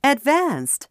Advanced.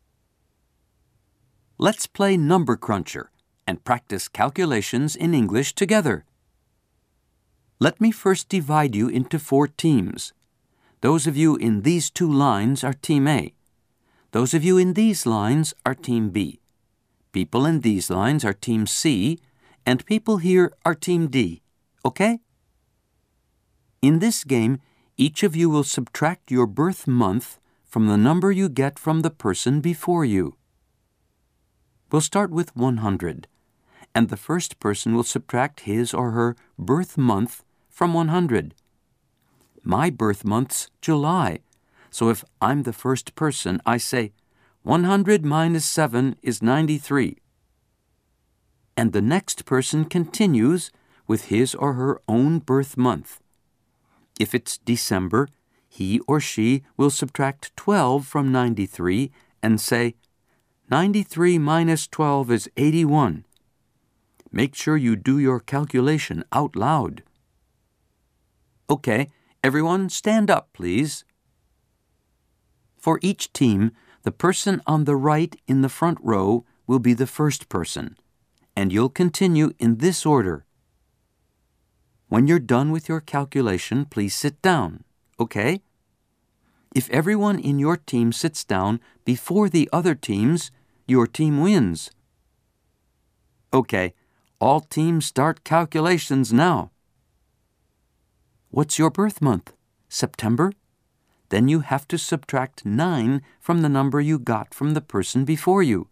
Let's play Number Cruncher and practice calculations in English together. Let me first divide you into 4 teams. Those of you in these 2 lines are Team A. Those of you in these lines are Team B. People in these lines are Team C, and people here are Team D. Okay? In this game, each of you will subtract your birth month from the number you get from the person before you. We'll start with 100, and the first person will subtract his or her birth month from 100. My birth month's July, so if I'm the first person, I say 100 minus 7 is 93. And the next person continues with his or her own birth month. If it's December, he or she will subtract 12 from 93 and say, 93 minus 12 is 81. Make sure you do your calculation out loud. Okay, everyone stand up, please. For each team, the person on the right in the front row will be the first person, and you'll continue in this order. When you're done with your calculation, please sit down, okay? If everyone in your team sits down before the other teams, your team wins. Okay, all teams start calculations now. What's your birth month? September? Then you have to subtract 9 from the number you got from the person before you.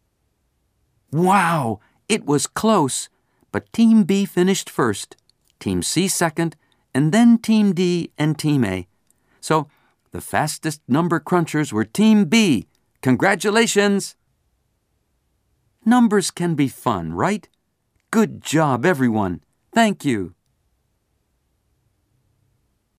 Wow! It was close, but Team B finished first, Team C second, and then Team D and Team A. So, the fastest number crunchers were Team B. Congratulations! Numbers can be fun, right? Good job, everyone. Thank you.